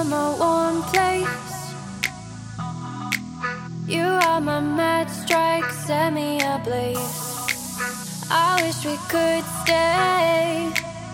my one place. You are my mad strike, set me ablaze. I wish we could stay,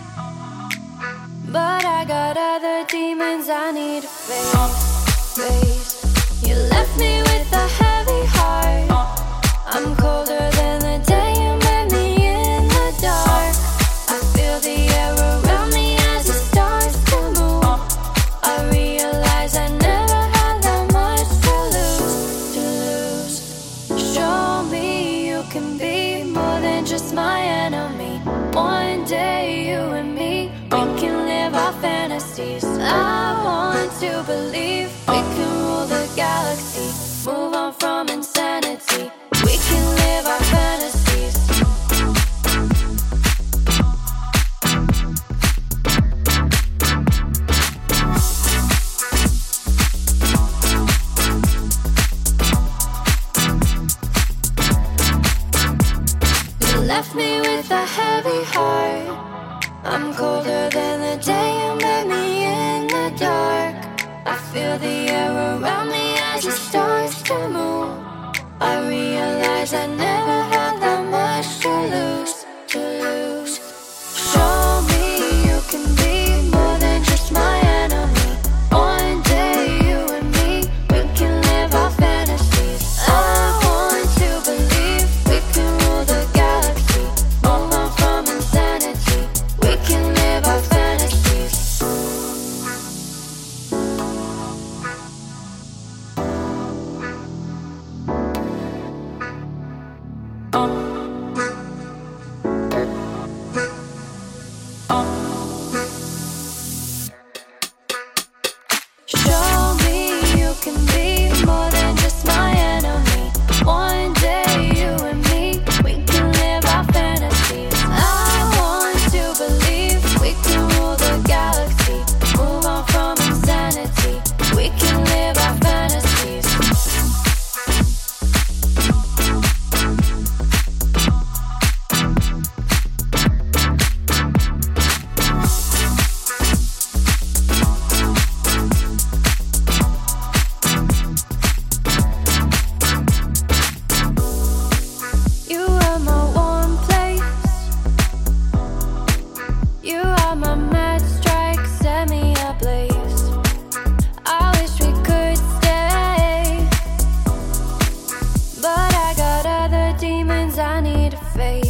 but I got other demons I need to face. You left me with a heavy heart. I'm colder than the day you met me in the dark. I feel the air around me as it starts to move. I realize I never had that much to lose. Show me you can be more than just my enemy. One day you and me, we can live our fantasies. I want to believe we can rule the galaxy, move on from insanity. We can live our fantasies. You left me with a heavy heart. I'm colder than the day you met me in the dark. I feel the air around me as it starts to move. I realize I never had that much to lose. Show me you can be more than just my enemy. One day you and me, we can live our fantasies. I want to believe we can rule the galaxy, move on from insanity. We can live our fantasies. Show me you can be more than just my enemy. One day you and me, we can live our fantasies. I want to believe we can rule the galaxy, move on from insanity. We can live our fantasies. You are my one place. You are my mad strike, set me ablaze. I wish we could stay, but I got other demons I need to face.